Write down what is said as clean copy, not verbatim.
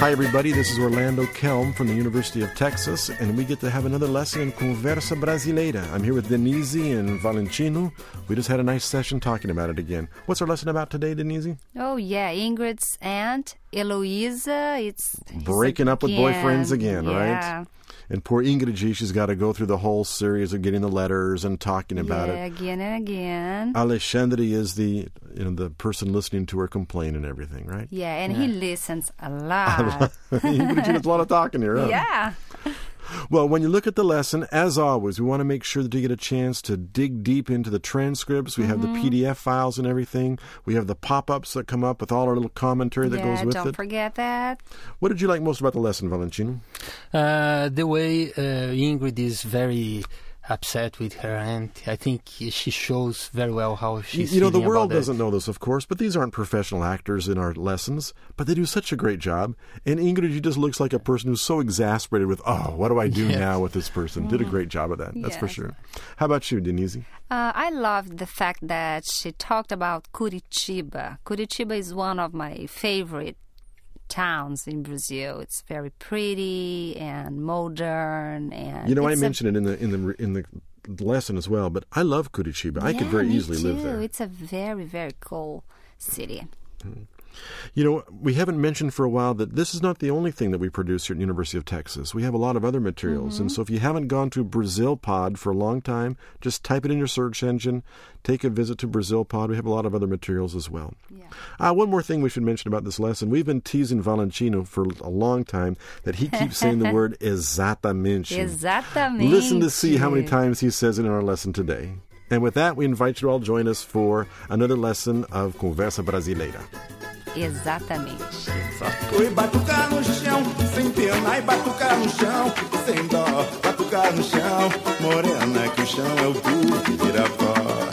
Hi, everybody. This is Orlando Kelm from the University of Texas, and we get to have another lesson in Conversa Brasileira. I'm here with Denise and Valentino. We just had a nice session talking about it again. What's our lesson about today, Denise? Oh, yeah. Ingrid's aunt, Eloisa, it's breaking up with boyfriends again, yeah. Right? And poor Ingrid, she's got to go through the whole series of getting the letters and talking about it. Yeah, again and again. Alexandre is the person listening to her complain and everything, right? Yeah, and he listens a lot. Ingrid, she does a lot of talking here, huh? Yeah. Well, when you look at the lesson, as always, we want to make sure that you get a chance to dig deep into the transcripts. We have the PDF files and everything. We have the pop-ups that come up with all our little commentary that goes with it. Don't forget that. What did you like most about the lesson, Valentino? The way Ingrid is very upset with her aunt. I think she shows very well how she's feeling. The world about doesn't know this, of course, but these aren't professional actors in our lessons, but they do such a great job. And Ingrid, she just looks like a person who's so exasperated with, what do I do now with this person? Did a great job of that, that's for sure. How about you, Denise? I loved the fact that she talked about Curitiba. Curitiba is one of my favorite towns in Brazil. It's very pretty and modern, and I mentioned it in the lesson as well, but I love Curitiba. I could very easily live there. It's a very, very cool city. We haven't mentioned for a while that this is not the only thing that we produce here at the University of Texas. We have a lot of other materials. And so if you haven't gone to Brazil Pod for a long time, just type it in your search engine, take a visit to Brazil Pod. We have a lot of other materials as well. Yeah. One more thing we should mention about this lesson. We've been teasing Valentino for a long time that he keeps saying the word exatamente. Exatamente. Listen to see how many times he says it in our lesson today. And with that, we invite you to all join us for another lesson of Conversa Brasileira. Exatamente. Oi, batucar no chão, sem pena, e batucar no chão, sem dó, batucar no chão, morena que o chão é o tu que vira pó.